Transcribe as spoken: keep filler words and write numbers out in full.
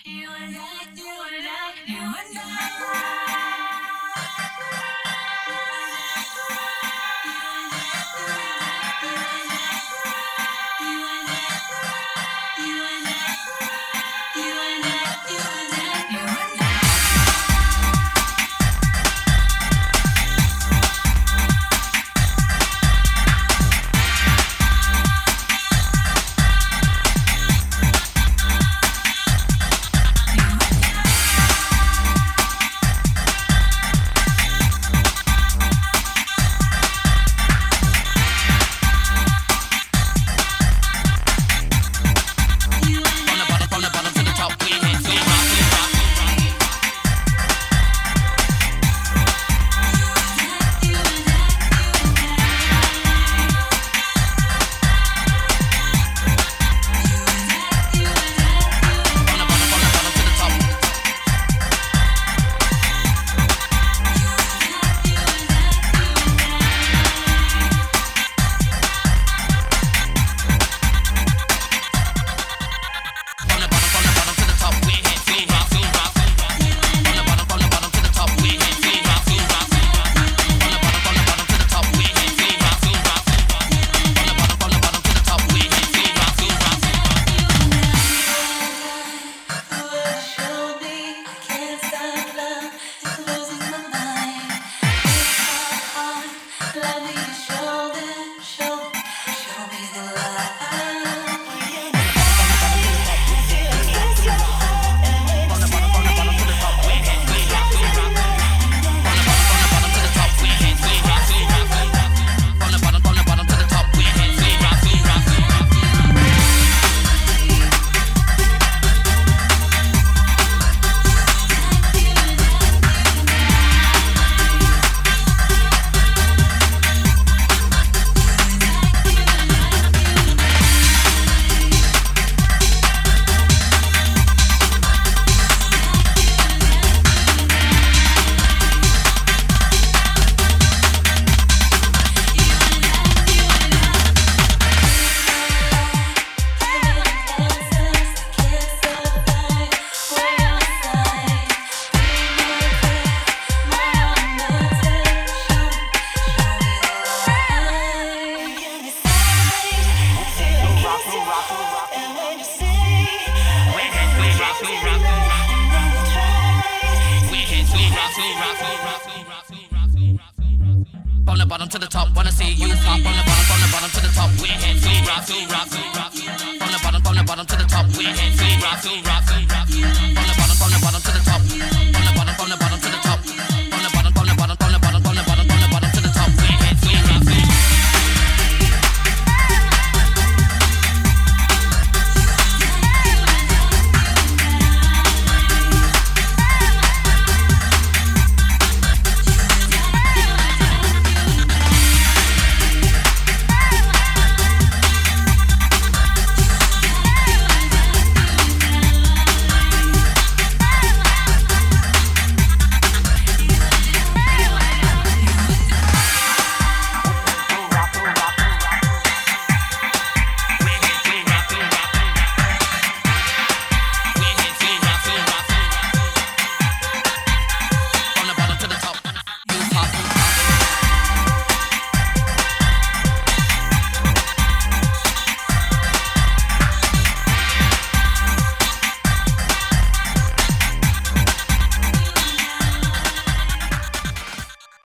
From the bottom to the top, wanna see you pop. From the bottom, from the bottom to the top, we hands, we rock, we rock, we rock. From the bottom, from the bottom to the top, we hands, we rock, we rock, we rock. From the bottom, from the bottom to the top, from the bottom, from the bottom to the top.